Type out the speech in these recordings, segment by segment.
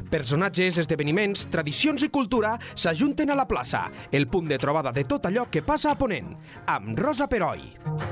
Personatges, esdeveniments, tradicions i cultura s'ajunten a la plaça, el punt de trobada de tot allò que passa a Ponent, amb Rosa Peroi.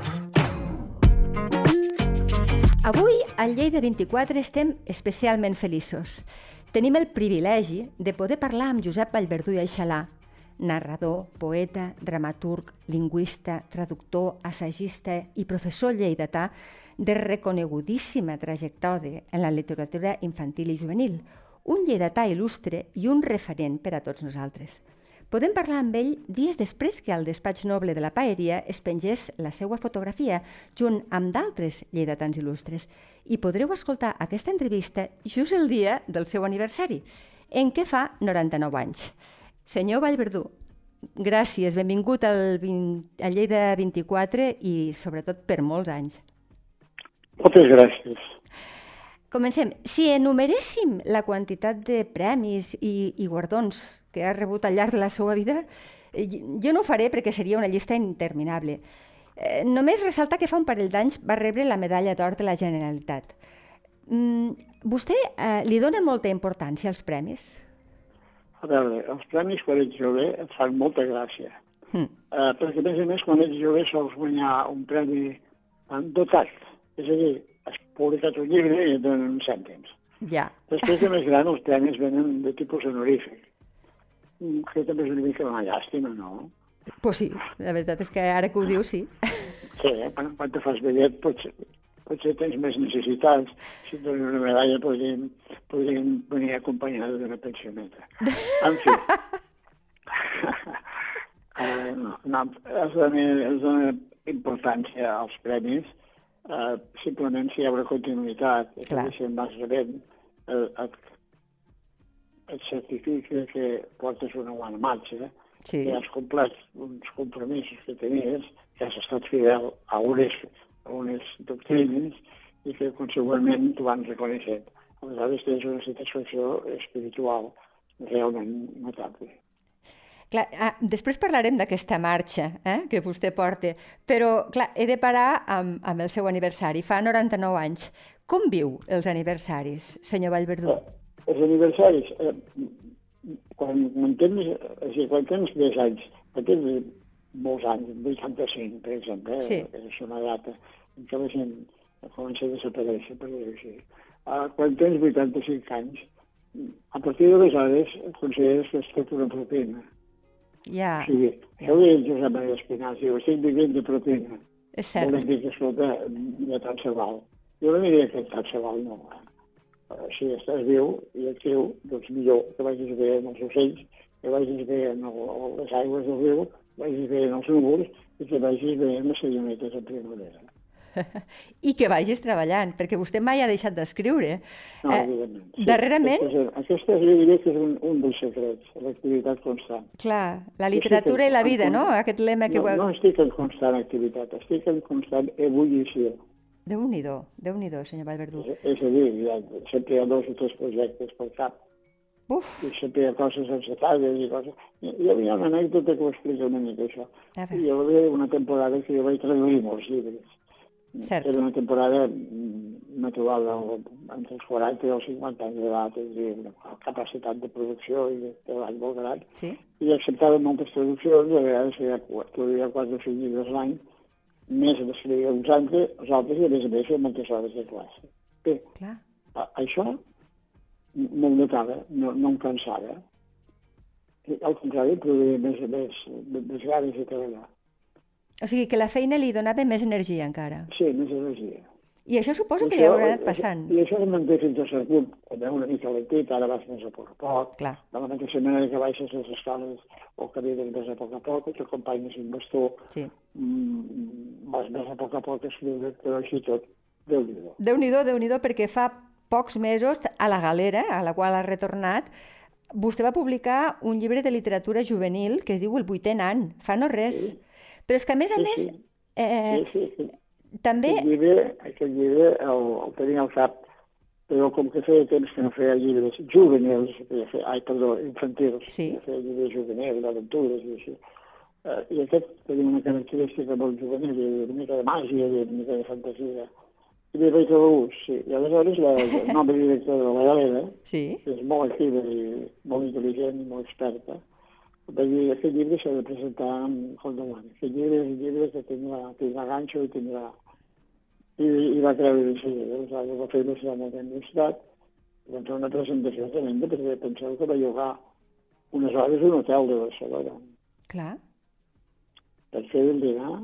Avui, al Lleida 24, estem especialment feliços. Tenim el privilegi de poder parlar amb Josep Vallverdú i Aixalà, narrador, poeta, dramaturg, lingüista, traductor, assagista i professor lleidatà de reconegudíssima trajectòria en la literatura infantil i juvenil, un lleidatà il·lustre i un referent per a tots nosaltres. Podem parlar amb ell dies després que al despatx noble de la Paeria es pengés la seva fotografia junt amb d'altres lleidatans il·lustres i podreu escoltar aquesta entrevista just el dia del seu aniversari, en què fa 99 anys. Senyor Vallverdú, gràcies, benvingut al Lleida 24 i sobretot per molts anys. Moltes gràcies. Comencem. Si enumeréssim la quantitat de premis i guardons que ha rebut al llarg de la seva vida, jo no ho faré perquè seria una llista interminable. Només ressalta que fa un parell d'anys va rebre la medalla d'or de la Generalitat. Vostè li dona molta importància als premis? A veure, els premis quan ets jove et fan molta gràcia. Perquè, a més, quan ets jove sols guanyar un premi dotat. És a dir, has publicat un llibre i et donen uns cèntims. Ja. Després de més gran els premis venen de tipus honorífic, que també és una mica una llàstima, no? Pues sí, la veritat és que ara que ho dius, sí. Sí, quan te fas vellet potser tens més necessitats. Si et donen una medalla podrien venir acompanyada d'una pensioneta. En fi. Es dona importància als premis, simplement si hi ha una continuïtat, és a dir, si en vas rebent, et certifica que portes una bona marxa, que has complert uns compromisos que tenies, que has estat fidel a unes doctrines i que, consegüentment, t'ho van reconeixent. Aleshores, tens una satisfacció espiritual realment notable. Clar, després parlarem d'aquesta marxa que vostè porta, però clar, he de parar amb el seu aniversari. Fa 99 anys. Com viu els aniversaris, senyor Vallverdú? Els aniversaris, quan tens més anys, quan tens molts anys, 85, per exemple, és una data en què la gent comença a desaparèixer, per dir-ho així. Quan tens 85 anys, a partir d'aleshores consideres que has fet una propina. Ja. O sigui, això ho deia Josep Maria Espinàs, diu, estic vivint de propina. És cert. Vol dir que, escolta, ja tant se val. Jo no diria que tant se val, no. Si estàs viu i actiu, doncs millor que vagis bé en els ocells, que vagis bé en les aigües del riu, que vagis bé en els núvols i que vagis bé en les senyoretes en primavera. I que vagis treballant, perquè vostè mai ha deixat d'escriure. No, evidentment. Sí. Darrerament... Aquesta jo diria que és un dels secrets, l'activitat constant. Clar, la literatura i la vida, no? Aquest lema que... No estic en constant activitat, estic en constant ebullició. Déu-n'hi-do, senyor Vallverdú. És a dir, sempre hi ha 2 o 3 projectes pel cap. Uf! I sempre hi ha coses encertades i coses... Hi havia una anècdota que ho explica una mica, això. Hi havia una temporada que jo vaig traduir molts llibres. Cert. Era una temporada natural entre els 40 i els 50 anys d'edat, és a dir, una capacitat de producció i de treball molt gran. Sí. I acceptava moltes traduccions, a vegades traduïa 4 o 5 llibres l'any, més d'escriure uns altres, i a més feia moltes hores de classe. Bé, això me'l notava, no em cansava. Al contrari, produïa més ganes de treballar. O sigui, que la feina li donava més energia encara. Sí, més energia. I això suposo que li haurà anat passant. I això es manté fins a cert punt. Quan una mica lentit, ara vas més a poc a poc. Clar. De la mateixa manera que baixes les escales o camines més a poc, que t'acompanyes un bastó, vas més a poc a escriure, però així tot, Déu-n'hi-do. Déu-n'hi-do, perquè fa pocs mesos, a la Galera, a la qual ha retornat, vostè va publicar un llibre de literatura juvenil que es diu El 8è nan, fa no res. Sí. Però és que, a més, també... Aquest llibre el tenia al cap, però com que feia temps que no feia llibres juvenils, infantils, feia llibres juvenils, d'aventures i així. I aquest tenia una característica molt juvenil, una mica de màgia, una mica de fantasia. I li vaig trobar gust, sí. I aleshores el nova directora de la Galera, Sí. que és molt activa i molt intel·ligent i molt experta, va dir, aquest llibre s'ha de presentar amb el davant. Aquest llibre és un llibre que tindrà ganxo i tindrà... I va creure de seguida. Aleshores va fer la seva universitat, va fer una presentació tremenda, perquè penseu que va llogar unes hores a un hotel de Barcelona. Clar. Per fer el dinar,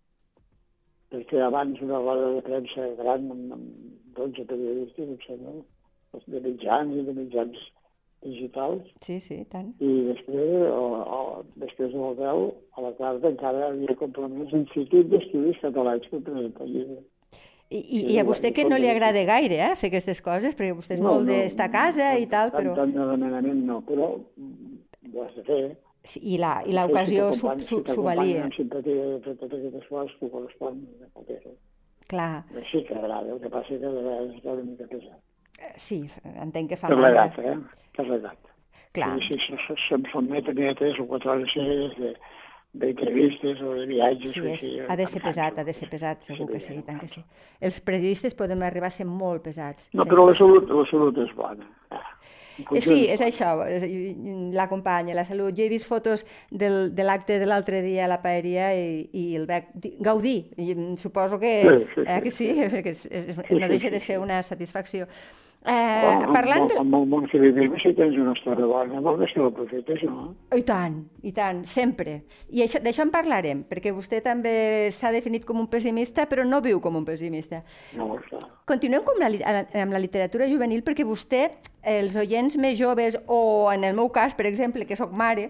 per fer abans una roda de premsa gran amb 12 periodistes, em sembla, de mitjans digitals. Sí, sí, tant. I després de l'hotel, a la tarda, encara havia compromès l'Institut d'Estudis Catalans per presentar el llibre. I a vostè que no li agrada gaire, fer aquestes coses, perquè vostè és molt d'estar a casa i tal, però... Tant de demanament no, però ho has de fer. Sí, i l'ocasió s'ho valia. Si simpatia de fer totes aquestes coses, que correspon a fer-ho. Clar. Sí que agrada, el que passa és que de vegades està una mica pesat. Sí, entenc que fa mal. Per l'edat, Per l'edat. Clar. Si se'm sotmet a 3 o 4 hores seguides d'entrevistes o de viatges... Sí, ha de ser pesat, segur que sí, tant que sí. Els periodistes podem arribar a ser molt pesats. No, però la salut és bona. Sí, és això, l'acompanya, la salut. Jo he vist fotos de l'acte de l'altre dia a la paeria i el veig gaudir. Suposo que sí, perquè no deixa de ser una satisfacció. Parlant de... Amb el món que vivim, si tens una història bona, molt més que l'aprofites, no? I tant, sempre. I d'això en parlarem, perquè vostè també s'ha definit com un pessimista, però no viu com un pessimista. No, clar. Continuem amb la literatura juvenil, perquè vostè, els oients més joves, o en el meu cas, per exemple, que sóc mare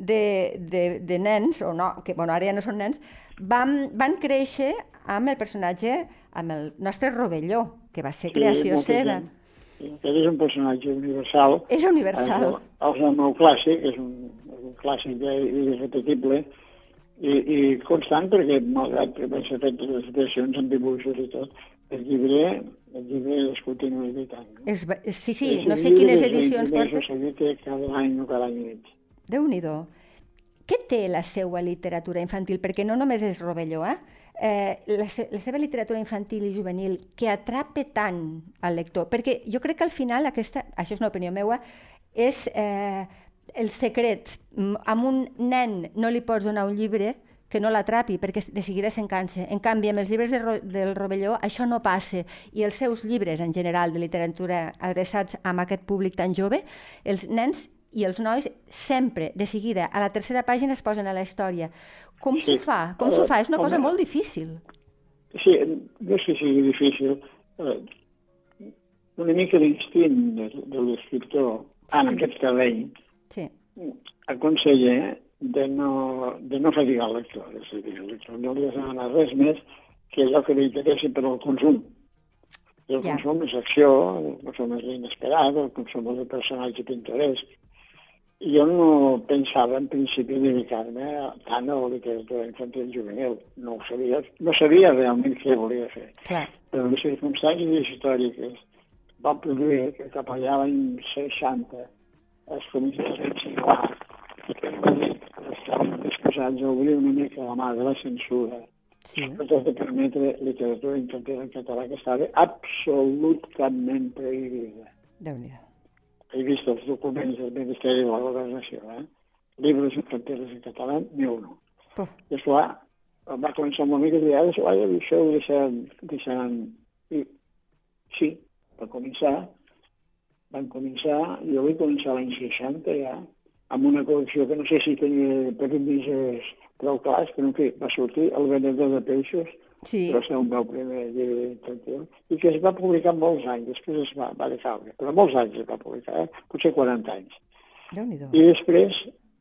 de nens, o no, que ara ja no són nens, van créixer amb el personatge, amb el nostre Rovelló, que va ser creació seva. Aquest és un personatge universal. És universal. El meu clàssic, és un clàssic irrepetible i constant, perquè malgrat que van ser fetes les versions amb dibuixos i tot, el llibre es continua editant. Sí, no sé quines edicions porta. Cada any o cada any i mig. Déu-n'hi-do. Què té la seva literatura infantil? Perquè no només és Rovelló, la seva literatura infantil i juvenil que atrapa tant al lector, perquè jo crec que al final això és una opinió meva, és el secret. A un nen no li pots donar un llibre que no l'atrapi, perquè de seguida se'n cansa. En canvi, amb els llibres del Rovelló això no passa, i els seus llibres en general de literatura adreçats a aquest públic tan jove, els nens i els nois sempre, de seguida, a la tercera pàgina es posen a la història. Com s'ho fa? És una cosa molt difícil. Sí, no sé si sigui difícil. Una mica l'instint de l'escriptor en aquest terreny aconsella de no fatigar el lector. És a dir, el lector no li ha de demanar res més que allò que li interessi per al consum. I el consum és acció, el consum és l'inesperat, el consum és el personatge pintoresc. Jo no pensava en principi dedicar-me tant a la literatura infantil i juvenil. No sabia realment què volia fer. Però les circumstàncies històriques van produir que cap allà l'any 60 es començés a insinuar que estaven disposats a obrir una mica la mà de la censura per tot de permetre literatura infantil en català que estava absolutament prohibida. Déu-n'hi-do. He vist els documents del Ministeri de la Governació, llibres infantils en català, ni un. I esclar, va començar una mica a dir, això ho deixaran... I sí, van començar, jo vaig començar l'any 60 ja, amb una col·lecció que no sé si tenia premisses prou clars, però en fi, va sortir El venedor de peixos, que va ser el meu primer llibre infantil, i que es va publicar molts anys, després es va decaure, però molts anys es va publicar, potser 40 anys. I després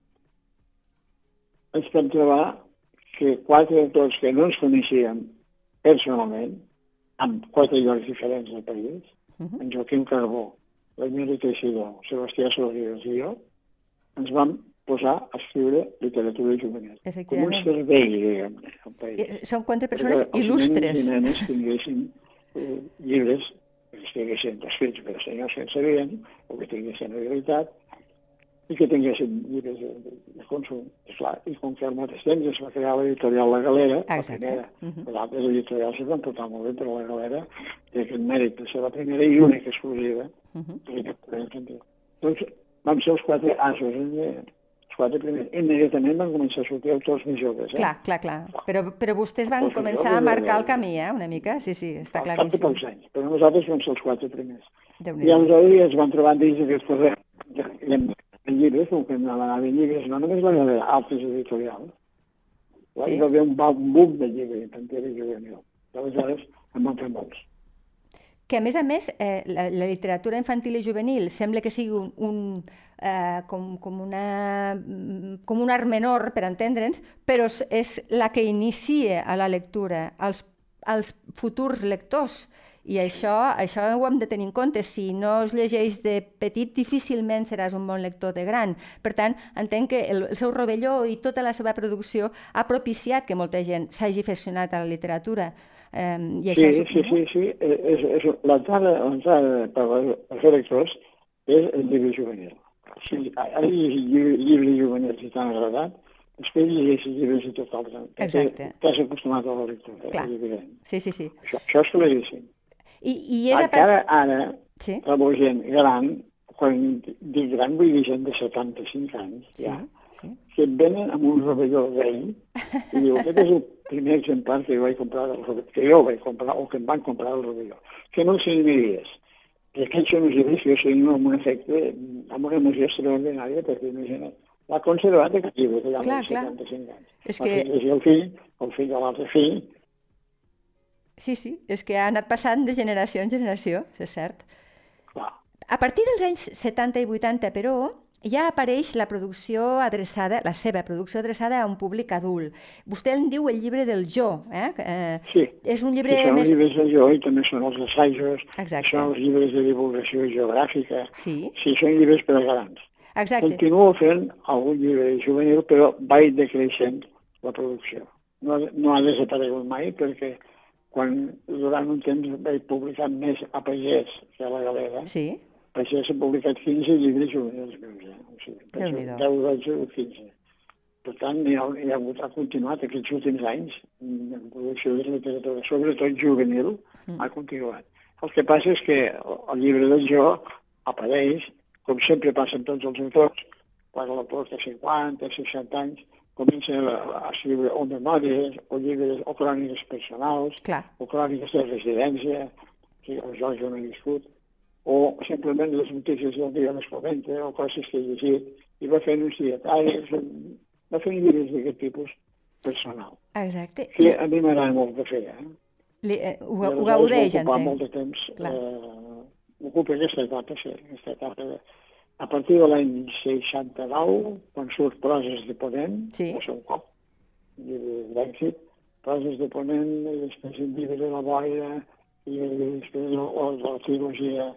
ens vam trobar que 4 autors que no ens coneixíem personalment, amb 4 llocs diferents del país, en Joaquim Carbó, l'Emili Teixidor, Sebastià Sorribes i jo, ens vam posar a escriure literatura juvenil. Com un servei, diguem-ne, al país. Són 4 persones il·lustres. Els nens i nenes tinguessin llibres que estiguessin escrits per senyors que en sabien, o que tinguessin habilitat, i que tinguessin llibres de consum. Esclar, i com que al mateix temps es va crear l'editorial La Galera, la primera. Les altres editorials es van portar molt bé, però La Galera té aquest mèrit de ser la primera i única exclusiva. Doncs vam ser els 4 asos, els 4 primers. Immediatament van començar a sortir autors més joves. Clar. Però vostès van començar a marcar el camí, una mica? Sí, està claríssim. Al cap de pocs anys, però nosaltres vam ser els 4 primers. I aleshores es van trobar dins d'aquest corrent en llibres, com que anaven en llibres, no només la Galera, altres editorials. Hi va haver un boom de llibres infantil i juvenil. Aleshores en van fer molts. Que, a més, la literatura infantil i juvenil sembla que sigui com un art menor, per entendre'ns, però és la que inicia a la lectura als futurs lectors. I això ho hem de tenir en compte. Si no es llegeix de petit, difícilment seràs un bon lector de gran. Per tant, entenc que el seu rovelló i tota la seva producció ha propiciat que molta gent s'hagi aficionat a la literatura. Sí. L'entrada per fer lectors és el llibre juvenil. Si has llegit llibres juvenils i t'han agradat, després llegeixes llibres i tot altre. Exacte. T'has acostumat a la lectura. Clar. Sí. Això és claríssim. Ara, la gent gran, quan dic gran vull dir gent de 75 anys, que et venen amb un rovelló vell i diu, aquest és el primer exemplar que jo vaig comprar, o que em van comprar el rovelló. Que no el signiries. I aquests són els llibres que jo signo amb un efecte, amb una emoció extraordinària, perquè imagina't, l'ha conservat aquest llibre, que ja amb 75 anys. És que el fill de l'altre fill. Sí, és que ha anat passant de generació en generació, és cert. A partir dels anys 70 i 80, però, ja apareix la seva producció adreçada a un públic adult. Vostè en diu el llibre del jo. Sí, és un llibre són més... els llibres del jo i també són els assajos, Exacte. Són els llibres de divulgació geogràfica. Sí, són llibres per a grans. Exacte. Continuo fent algun llibre juvenil, però vaig decreixent la producció. No ha desaparegut mai, perquè quan durant un temps vaig publicar més a Pagès que a la Galera, Pagès ha publicat 15 llibres juvenils meus. O sigui, 10, 12 o 15. Per tant, ha continuat aquests últims anys en producció de literatura, sobretot juvenil, ha continuat. El que passa és que el llibre del jo apareix, com sempre passa amb tots els autors, quan l'autor té 50, 60 anys, comença a escriure o memòries, o llibres, o cròniques personals, o cròniques de residència, que jo no he viscut, o simplement les notícies del dia les comenta, o coses que he llegit, i va fent uns dietaris, va fent llibres d'aquest tipus personal. Exacte. Que a mi m'agrada molt de fer, Ho gaudeix, entenc. M'ocupa molt de temps, m'ocupa aquesta etapa, a partir de l'any 69, quan surt Proses de Ponent, va ser un cop, llibre d'èxit, Proses de Ponent, i després el llibre de la Boira, i després la trilogia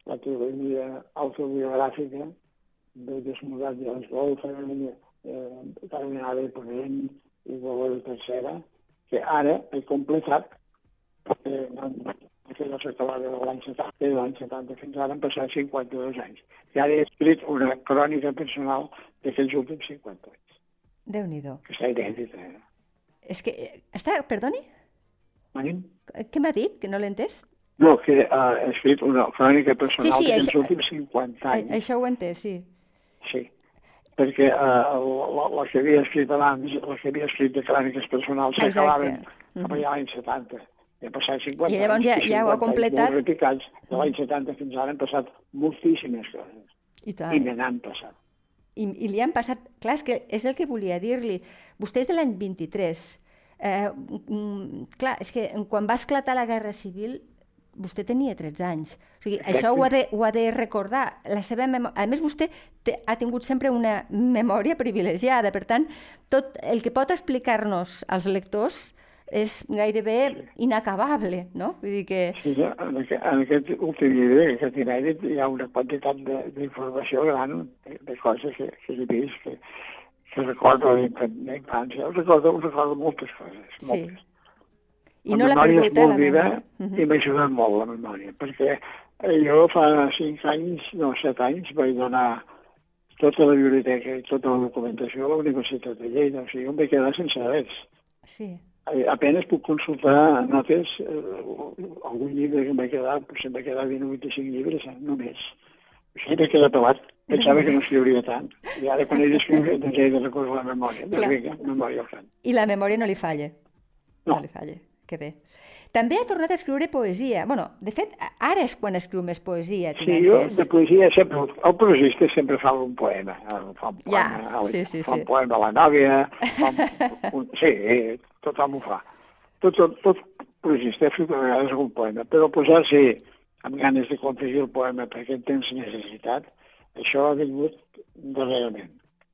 autobiogràfica de Desmudat de les Golfes, Carmenada de Ponent i Bola de Tercera, que ara he completat, que no s'acabava de l'any 70, de l'any 70 fins ara han passat 52 anys. I ara he escrit una crònica personal d'aquells últims 50 anys. Déu-n'hi-do. Que està inèdita. És que... Perdoni? Manim? Què m'ha dit? Que no l'he entès? No, que he escrit una crònica personal d'aquells últims 50 anys. Això ho he entès, sí. Sí, perquè la que havia escrit abans, la que havia escrit de cròniques personals s'acabaven cap allà l'any 70. I ha passat 50 anys. I llavors ja ho ha completat. Molt repicats. De l'any 70 fins ara han passat moltíssimes coses. I me n'han passat. I li han passat... Clar, és el que volia dir-li. Vostè és de l'any 23. Clar, és que quan va esclatar la Guerra Civil, vostè tenia 13 anys. O sigui, això ho ha de recordar. A més, vostè ha tingut sempre una memòria privilegiada. Per tant, tot el que pot explicar-nos als lectors és gairebé inacabable, no? Vull dir que... Sí, en aquest últim llibre, aquest inèdit, hi ha una quantitat d'informació gran, de coses que he vist, que recordo d'infància. Recordo moltes coses, moltes. I no l'ha perdut, la memòria? I m'ha ajudat molt la memòria, perquè jo fa 7 anys vaig donar tota la biblioteca i tota la documentació a la Universitat de Lleida. O sigui, em vaig quedar sense res. Sí. Apenas puc consultar notes, algun llibre que em va quedar, potser em va quedar 20 o 25 llibres, només. Així m'he quedat pelat. Pensava que no escriuria tant. I ara quan he d'escriure, doncs he de recórrer la memòria. Doncs vinga, memòria al front. I la memòria no li falla. No. No li falla. Que bé. També ha tornat a escriure poesia. Bueno, de fet, ara és quan escriu més poesia. Sí, jo de poesia sempre... El prosista sempre fa un poema. Fa un poema, fa un poema a la nòvia. Sí, tothom ho fa. Tot prosista ha fet a vegades un poema. Però posar-se amb ganes de confegir el poema perquè en tens necessitat, això ha vingut darrerament.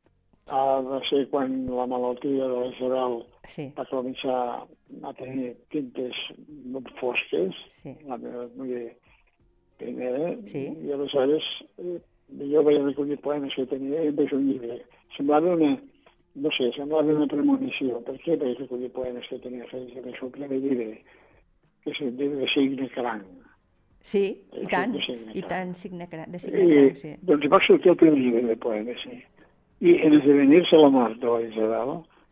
Va ser quan la malaltia de la Isabel va començar a tenir tintes molt fosques, la meva muller primera, i aleshores jo vaig recollir poemes que tenia i em vaig un llibre. Semblava una premonició. Per què vaig recollir poemes que tenia fets en el seu primer llibre, que és el llibre de Signe Cranc. Sí, i tant, de Signe Cranc, sí. Doncs va sortir el primer llibre de poemes, sí. I en esdevenir-se la mort de la Isabel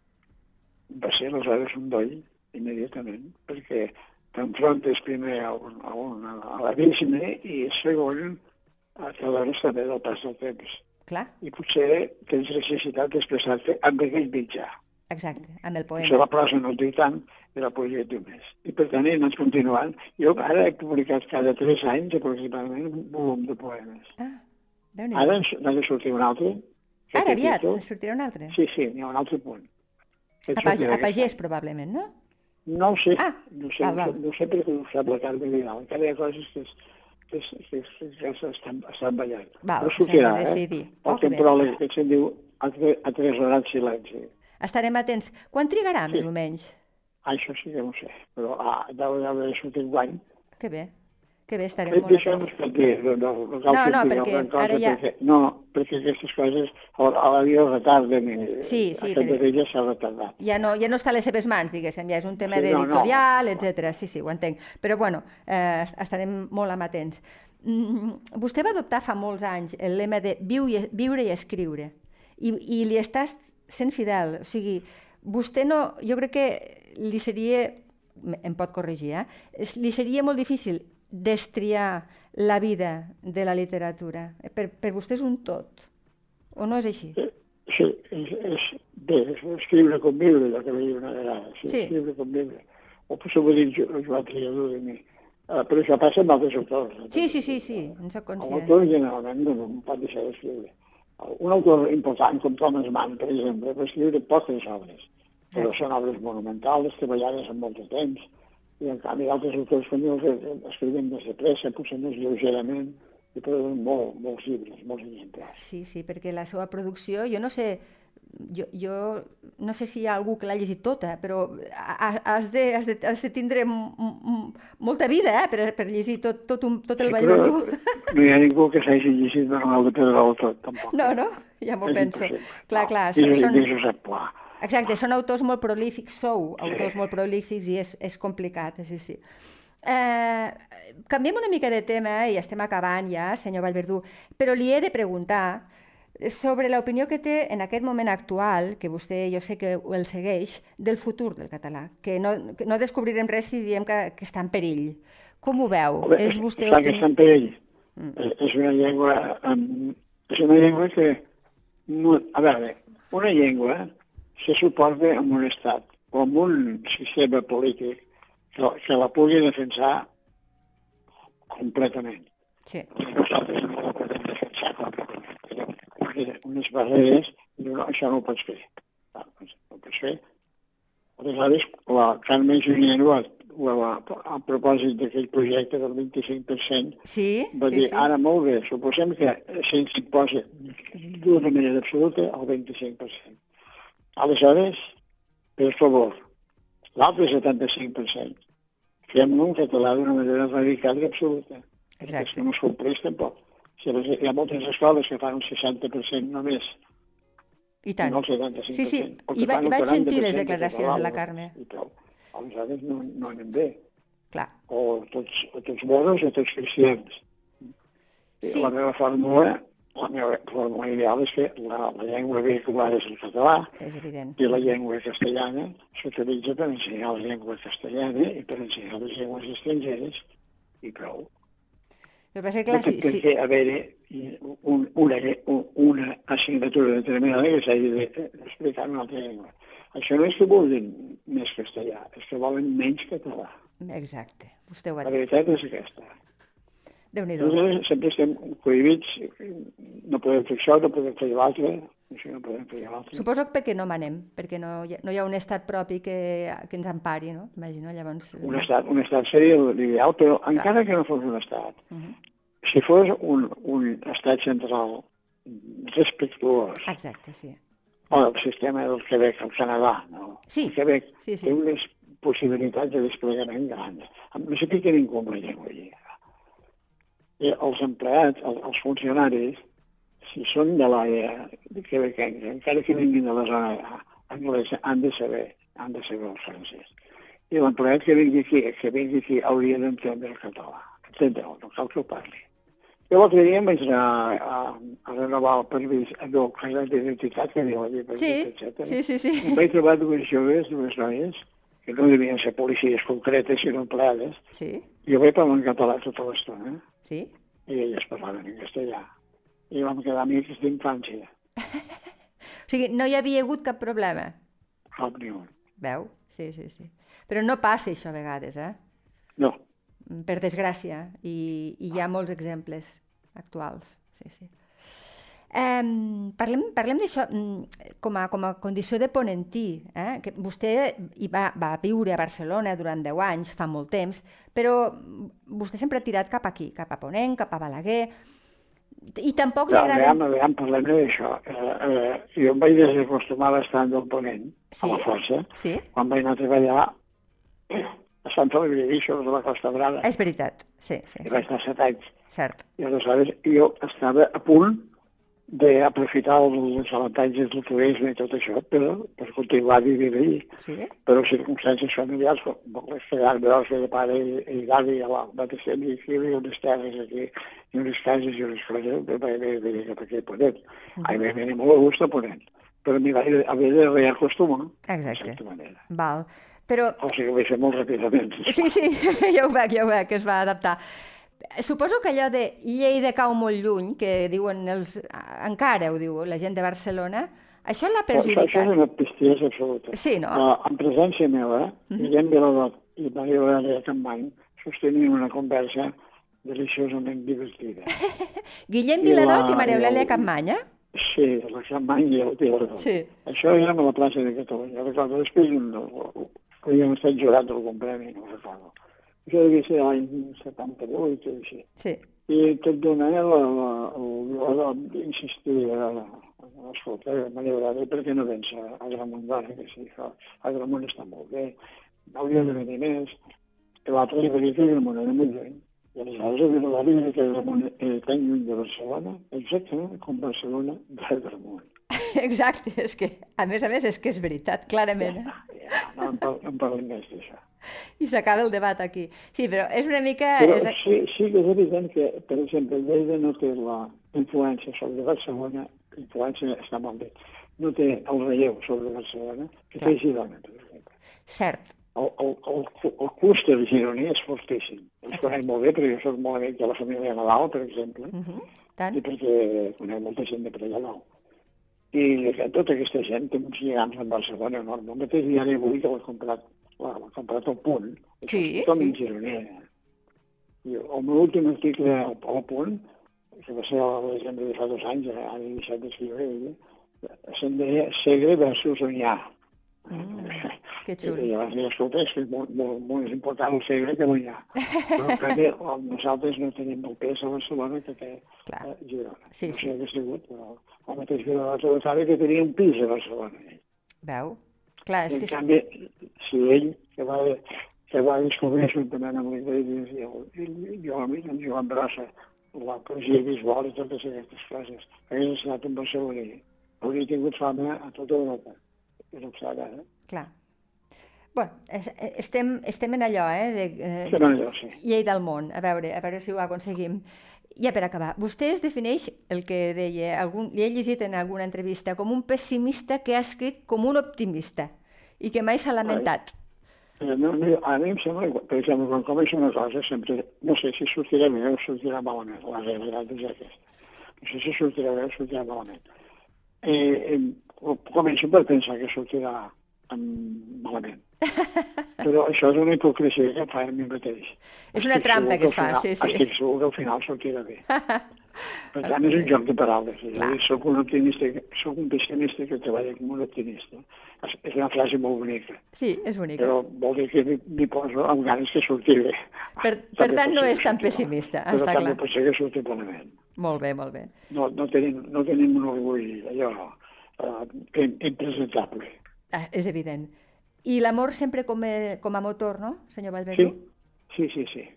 va ser aleshores un doll, immediatament, perquè t'enfrontes primer a l'abisme i segon a t'adones també del pas del temps. Clar. I potser tens necessitat d'expressar-te amb aquell mitjà. Exacte, amb el poema. Potser la prosa no et diu tant i la poesia et diu més. I per tant he anat continuant. Jo ara he publicat cada 3 anys aproximadament un volum de poemes. Déu-n'hi-do. Ara n'ha de sortir un altre. Ara aviat en sortirà un altre? Sí, n'hi ha un altre punt. A pagès, probablement, no? No ho sé. No sé perquè ho sap la Carme Vidal. Encara hi ha coses que estan ballant. Però sortirà, el temporal que se'n diu atresorat silenci. Estarem atents. Quan trigarà, més o menys? Això sí que no ho sé, però deu haver sortit guany. Que bé, estarem molt atents. Això no es pot dir. No, perquè ara ja... No, perquè aquestes coses a la vida retarden i aquesta d'ella s'ha retardat. Ja no està a les seves mans, diguéssim, ja és un tema d'editorial, etc. Sí, ho entenc. Però, bueno, estarem molt amatents. Vostè va adoptar fa molts anys el lema de viure i escriure, i li estàs sent fidel. O sigui, vostè no... Jo crec que li seria... Em pot corregir, li seria molt difícil destriar la vida de la literatura. Per vostè és un tot, o no és així? Sí, és escriure com viure, el que veia una vegada. Escriure com viure. O potser ho dic Joan Triador de mi. Però això passa amb altres autors. Sí, en soc conscient. L'autor generalment no pot deixar d'escriure. Un autor important, com Thomas Mann, per exemple, va escriure poques obres, però són obres monumentals, treballades en molt de temps, i en canvi altres autors com jo escrivien més de pressa, potser més lleugerament, i produïen molts llibres, molts exemplars. Sí, perquè la seva producció, jo no sé, jo no sé si hi ha algú que l'ha llegit tota, però has de tindre molta vida per llegir tot el Vallverdú. No hi ha ningú que s'hagi llegit Manuel de Pedrolo tot, tampoc. No, ja m'ho penso. Clar. I Josep Pla. Exacte, són autors molt prolífics, autors molt prolífics i és complicat, sí. Canviem una mica de tema i estem acabant ja, senyor Vallverdú, però li he de preguntar sobre l'opinió que té en aquest moment actual, que vostè jo sé que el segueix, del futur del català, que no descobrirem res si diem que està en perill. Com ho veu? És vostè optimista? Que està en perill. És una llengua que... A veure, una llengua se suporta en un estat o en un sistema polític que la pugui defensar completament. Sí. Nosaltres no la podem defensar completament. Unes barreres, això no ho pots fer. No ho pots fer. Aleshores, la Carme Junyent, a propòsit d'aquell projecte del 25%, va dir, ara molt bé, suposem que se'ns imposa d'una manera absoluta el 25%. Aleshores, per favor, l'altre 75%, fem-lo en català d'una manera radical i absoluta. Exacte. Que no es compleix tampoc. Hi ha moltes escoles que fan un 60% només. I tant. No el 75%. Sí. I vaig sentir les declaracions de la Carme. Aleshores no anem bé. Clar. O tots moros o tots cristians. La meva fórmula La meva forma ideal és que la llengua vehicular és el català, És evident. i la llengua castellana s'utilitza per ensenyar la llengua castellana i per ensenyar les llengües estrangeres, i prou. El que passa és que, clar, No té per què haver-hi una assignatura determinada que s'hagi d'explicar en una altra llengua. Això no és que vulguin més castellà, és que volen menys català. Exacte, vostè ho ha La dit. veritat és aquesta. Déu-n'hi-do. Nosaltres sempre estem cohibits, no podem fer això, no podem fer l'altre, això no podem fer l'altre. Suposo que perquè no manem, perquè no hi ha un estat propi que ens empari, no? Imagino, llavors... Un estat seria l'ideal, però encara que no fos un estat, si fos un estat central respectuós, Exacte, sí. o el sistema del Quebec, el Canadà, no? Sí, El Quebec sí. té unes possibilitats de desplegament grans. No sé què ningú amb la llengua allí. I els empleats, els funcionaris, si són de l'àrea quebequenca, encara que vinguin de la zona anglesa, han de saber el francès. I l'empleat que vingui aquí hauria d'entendre el català. Entendeu? No cal que ho parli. Jo l'altre dia em vaig anar a renovar el permís, el carnet d'identitat, que diu allà, etcètera. Sí. Em vaig trobar dues joves, dues noies, que no devien ser policies concretes, sinó empleades. Sí, I jo vaig parlar en català tota l'estona, sí. i elles parlaven en castellà. I vam quedar amics d'infància. O sigui, no hi havia hagut cap problema. Cap ni un. Veu? Sí. Però no passa això a vegades, No. per desgràcia, i hi ha molts exemples actuals. Sí. Parlem d'això com a condició de ponentí, que vostè va viure a Barcelona durant 10 anys, fa molt temps, però vostè sempre ha tirat cap aquí, cap a Ponent, cap a Balaguer, i tampoc li agrada... Aviam, parlem d'això. Jo em vaig desacostumar bastant del Ponent, a la força, quan vaig anar a treballar a Sant Feliu de Guíxols, a la Costa Brava. És veritat, sí. I vaig estar 7 anys. Cert. I aleshores jo estava a punt d'aprofitar els avantatges del turisme i tot això per continuar vivint allí. Sí? Però circumstàncies familiars, com les quedar-me de pare i d'avi a la mateixa i aquí, i unes terres aquí, i unes cases i unes coses, vaig venir cap aquí a Ponent. Vaig venir molt a gust a Ponent, però m'hi vaig haver de reacostumar, de certa manera. Val. Però... O sigui, ho vaig fer molt ràpidament. Sí, ja ho veig, que es va adaptar. Suposo que allò de Lleida cau molt lluny, que diuen encara ho diu la gent de Barcelona, això l'ha perjudicat. Això és una bestiesa absoluta. Sí, no? En presència meva, Guillem Viladot i Maria Eulàlia Campmany sostenien una conversa deliciosament divertida. Guillem Viladot i Maria Eulàlia Campmany, Sí, la Campany i el Viladot. Sí. Això era a la plaça de Catalunya. Recordo, després havíem estat jurats d'algun premi, no recordo. Això devia ser l'any 78 o així. Sí. I tot d'una el Viladot insistia escolta, Maria Eulàlia, per què no vens a Agramunt d'Ara, que sí, a Agramunt està molt bé, hauria de venir més. I l'altre li va dir que Agramunt era molt lluny. I aleshores a Viladot era que Agramunt era tan lluny de Barcelona, exactament com Barcelona d'Agramunt. Exacte, és que, a més, és que és veritat, clarament. No en parlem més d'això. I s'acaba el debat aquí. Sí, però és una mica... Però sí que és evident que, per exemple, Lleida no té la influència sobre Barcelona, influència està molt bé, no té el relleu sobre Barcelona, que té Girona, per exemple. Cert. El clúster gironí és fortíssim. Els conec molt bé, perquè jo soc molt amic de la família Nadal, per exemple, i perquè conec molta gent de per allà dalt. I tota aquesta gent té uns lligams amb Barcelona enorme. El mateix diari avui que l'ha comprat al Punt, és totalment gironí. I el meu últim article al Punt, que va ser a la desembre de fa 2 anys, ara he deixat d'escriure ella, se'n deia Segre versus Onyar. Que xulo. I llavors dic, escolta, és molt més important el Segre que l'Onyar. Però en canvi, nosaltres no tenim el pes a Barcelona que té Girona. No sé què ha sigut, però el mateix Viladot sabe que tenia un pis a Barcelona. Veu? Clar, és que... En canvi, si ell, que va descobrir juntament amb l'Iglesias i jo, en Joan Brossa, la poesia visual i totes aquestes coses, hagués estat en Barcelona, hauria tingut fama a tota Europa. És obstada, Clar. Bueno, estem en allò, Estem en allò, sí. Llei del món, a veure si ho aconseguim. ja per acabar, vostè es defineix, el que deia, li he llegit en alguna entrevista, com un pessimista que ha escrit com un optimista i que mai s'ha lamentat. No, a mi em sembla, per exemple, quan comença una cosa, sempre, no sé si sortirà bé o sortirà malament, la realitat és aquesta. No sé si sortirà bé o sortirà malament. Començo per pensar que sortirà malament. Però això és una hipocresia que fa a mi mateix. És una trampa que es fa, sí. Estic segur que al final sortirà bé. Per tant, és un joc de paraules. Soc un optimista, soc un pessimista que treballa com un optimista. És una frase molt bonica. Sí, és bonica. Però vol dir que m'hi poso amb ganes que surti bé. Per tant, no és tan pessimista, està clar. Però també pot ser que surti malament. Molt bé, molt bé. No tenim un orgull allò impresentable. És evident. I l'amor sempre com a motor, no, senyor Vallverdú? Sí.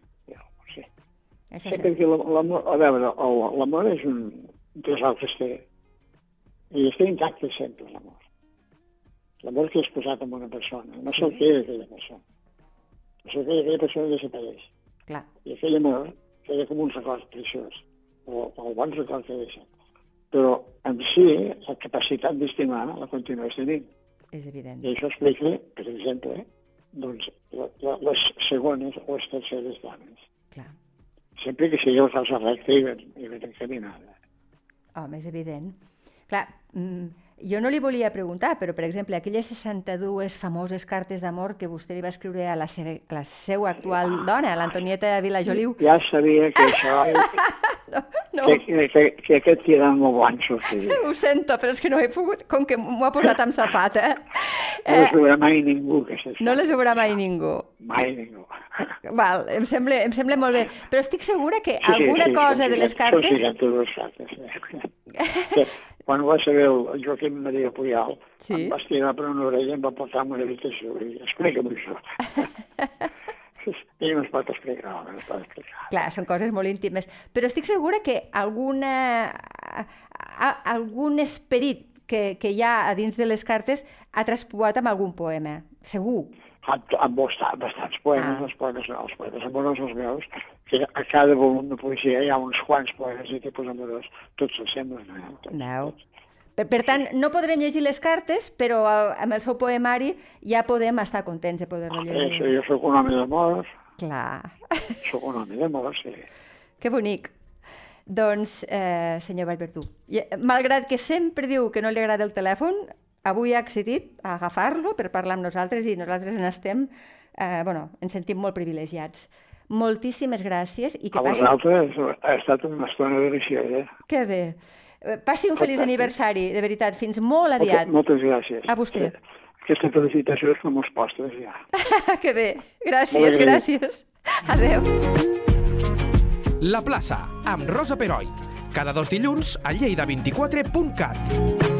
Sempre que l'amor, a veure, l'amor és un tresor que es té, i es té intacte sempre, l'amor. L'amor que és posat en una persona, no se'l queda aquella persona. No se'l queda aquella persona desapareix. Clar. I aquell amor queda com un record preciós, o el bon record que deixa. Però en si, la capacitat d'estimar la continues tenint. És evident. I això explica, per exemple, doncs, les segones o les terceres dones. Clar. Sempre que sigui la cosa recta i ben encaminada. Home, és evident. Clar, jo no li volia preguntar, però, per exemple, aquelles 62 famoses cartes d'amor que vostè li va escriure a la seva actual dona, l'Antonieta Vilajoliu. Ja sabia que això... No. Que aquest tirant molt blanc sortiria. Ho sento, però és que no he pogut, com que m'ho ha posat amb safata. No les veurà mai ningú, aquestes cartes. No les veurà mai ningú. Mai ningú. Val, em sembla molt bé. Però estic segura que alguna cosa de les cartes... Quan ho va saber el Joaquim Maria Puyal, em va estirar per una orella i em va portar a una habitació i explica'm això. I no es pot explicar, no es pot explicar. Clar, són coses molt íntimes. Però estic segura que algun esperit que hi ha a dins de les cartes ha traspuat amb algun poema. Segur. Amb bastants poemes, els poemes amorosos meus, que a cada volum de poesia hi ha uns quants poemes de tipus amorós, tots s'assemblen. Per tant, no podrem llegir les cartes, però amb el seu poemari ja podem estar contents de poder-lo llegir. Jo soc un home d'amor. Clar. Soc un home d'amor, sí. Que bonic. Doncs, senyor Vallverdú, malgrat que sempre diu que no li agrada el telèfon, avui ha accedit a agafar-lo per parlar amb nosaltres i nosaltres ens sentim molt privilegiats. Moltíssimes gràcies. A vosaltres ha estat una estona deliciosa. Que bé. Passi un feliç aniversari, de veritat, fins molt aviat. Moltes gràcies. A vostè. Aquesta felicitació és com els postres, ja. Que bé. Gràcies. Adéu. La plaça, amb Rosa Peroi. Cada 2 dilluns a lleida24.cat.